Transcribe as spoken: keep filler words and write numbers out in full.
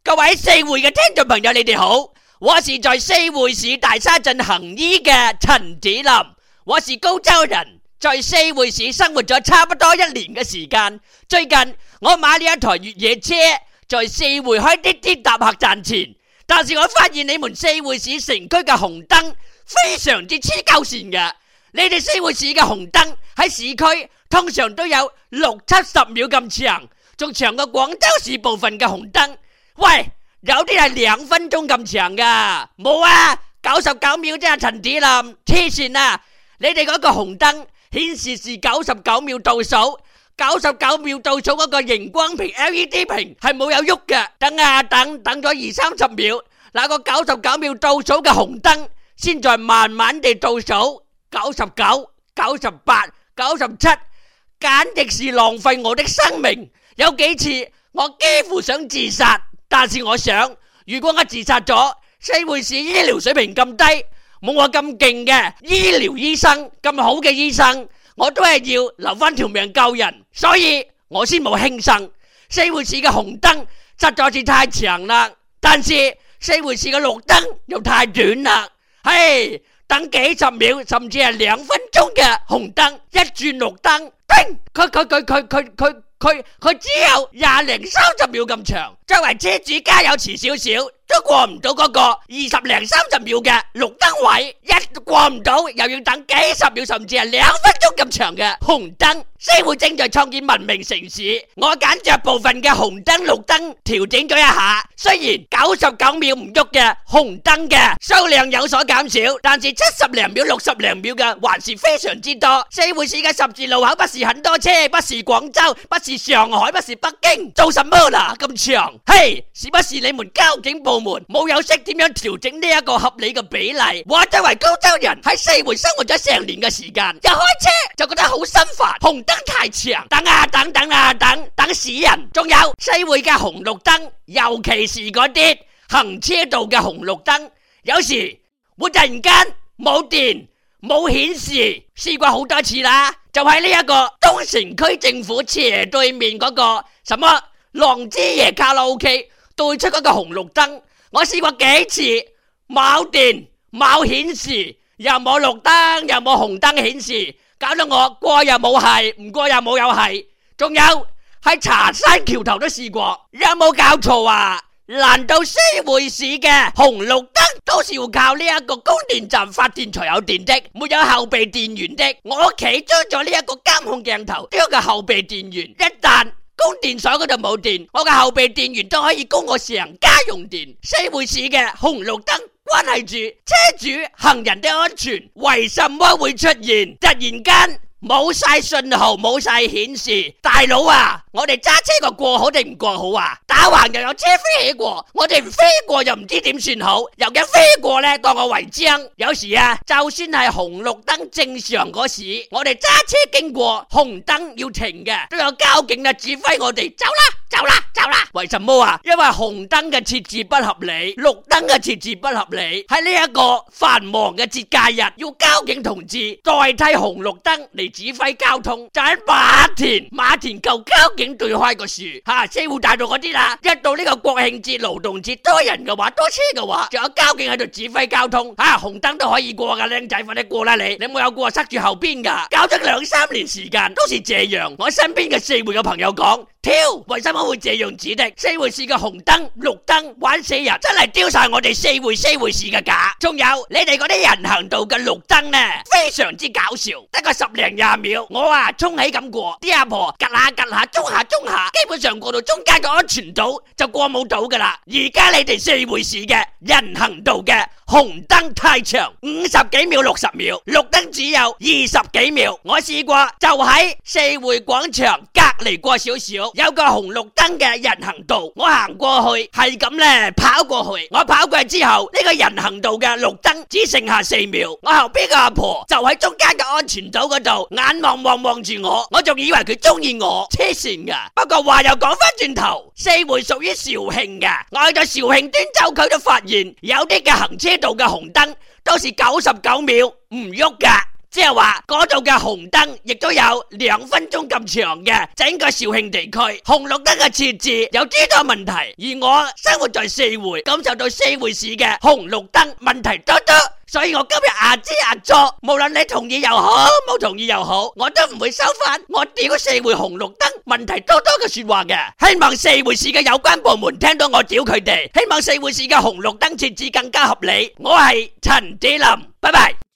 各位四會嘅聽眾朋友，你哋好，我是在四會市大沙鎮行醫嘅陳子林，我是高州人，在四會市生活咗差不多一年嘅時間。最近我買了一台越野車，在四會開滴滴搭客賺錢，但是我發現你們四會市城區嘅紅燈非常之黐鳩線嘅。你哋四會市嘅紅燈喺市區通常都有六七十秒咁長，仲長過廣州市部分嘅紅燈。喂，有啲係兩分鐘咁長噶，冇啊，九十九秒啫，陳子林，黐線啊！你哋嗰個紅燈顯示是九十九秒倒數，九十九秒倒數嗰個熒光屏 L E D 屏係冇有喐嘅，等啊等，等咗二三十秒，那個九十九秒倒數嘅紅燈先在慢慢地倒數，九十九、九十八、九十七，簡直是浪費我的生命。有幾次我幾乎想自殺。但是我想，如果我自殺咗，四會市醫療水平咁低，冇我咁勁嘅醫療醫生咁好嘅醫生，我都係要留翻條命救人，所以我先冇輕生。四會市嘅紅燈實在是太長啦，但是四會市嘅綠燈又太短啦。嘿，等幾十秒甚至係兩分鐘嘅紅燈，一轉綠燈，叮，佢佢佢佢佢佢佢佢只有廿零三十秒咁長，作為車主加油遲少少都過唔到嗰個二十零三十秒嘅綠燈位，一過唔到又要等幾十秒甚至係兩分鐘咁長嘅紅燈。四會正在創建文明城市，我揀着部分嘅紅燈綠燈調整咗一下，雖然九十九秒唔喐嘅紅燈嘅數量有所減少，但是七十零秒六十零秒嘅還是非常之多。四會市嘅十字路口不是很多車，不是廣州，不是上海，不是北京，做什麼啦咁長？嘿，是不是你們交警部門冇有識點樣調整呢一個合理嘅比例？我作為高州人喺四會生活咗成年嘅時間，一開車就覺得好心煩，紅燈太長，等啊等等啊等，等死人。仲有四會嘅紅綠燈，尤其是嗰啲行車道嘅紅綠燈，有時會突然間冇電冇顯示，試過好多次啦。就喺呢一個東城區政府斜對面嗰個什麼浪之夜卡拉 OK 對出嗰個紅綠燈，我試過幾次冇電冇顯示，又冇綠燈又冇紅燈顯示，搞到我過又冇係，唔過又冇有係。仲有喺茶山橋頭都試過，有冇搞錯啊？難道四會市嘅紅綠燈都是要靠呢一個供電站發電才有電的，沒有後備電源的？我屋企裝咗呢一個監控鏡頭，都有個後備電源，一旦供電所嗰度冇電，我嘅後備電源都可以供我成家用電。四會市嘅紅綠燈關係住車主行人的安全，為什麼會出現突然間冇晒信號冇晒顯示？大佬啊，我哋揸車個過好定唔過好啊？打橫又有車飛起過，我哋唔飛過又唔知點算好，又驚飛過呢當我違章。有時啊，就算係紅綠燈正常嗰時，我哋揸車經過紅燈要停嘅，都有交警啊指揮我哋走啦走啦走啦。為什麼啊？因為紅燈嘅設置不合理，綠燈嘅設置不合理。喺呢一個繁忙嘅節假日，要交警同志代替紅綠燈嚟指揮交通，就喺馬田馬田舊交警對開個樹吓，四會大道嗰啲啦。一到呢個國慶節勞動節多人嘅話，多車嘅話，仲有交警喺度指揮交通吓，紅燈都可以過噶，靚仔快啲過啦你，你冇有過塞住後邊噶？搞咗兩三年時間都是這樣。我身邊嘅四會嘅朋友講，挑為什麼會這樣子的？四會市嘅紅燈綠燈玩死人，真係丟晒我哋四會四會市嘅架。仲有你哋嗰啲人行道嘅綠燈呢，非常之搞笑，得個十零廿秒，我啊衝起咁過，啲阿婆趌下趌下，中下中下，基本上過到中間嘅安全島就過冇到噶啦。而家你哋四會市嘅人行道嘅紅燈太長，五十幾秒六十秒，綠燈只有二十幾秒。我試過就喺四會廣場隔離過少少，有個紅綠燈嘅人行道，我行過去係咁咧跑過去，我跑過去之後，呢個人行道嘅綠燈只剩下四秒，我後邊個阿婆就喺中間嘅安全島嗰度眼望望望住我，我仲以為佢中意我，黐線噶。不過話又講翻轉頭，四會屬於肇慶嘅，我去到肇慶端州區都發現有啲嘅行車道嘅紅燈都是九十九秒唔喐噶， 即係話嗰度嘅紅燈亦都有兩分鐘咁長嘅。整個肇慶地區紅綠燈嘅設置有諸多問題，而我生活在四會，感受到四會市嘅紅綠燈問題多多。所以我今日阿支阿左，無論你同意又好，冇同意又好，我都唔會收翻我屌四會紅綠燈問題多多嘅說話嘅。希望四會市嘅有關部門聽到我屌佢哋，希望四會市嘅紅綠燈設置更加合理。我係陳子林，拜拜。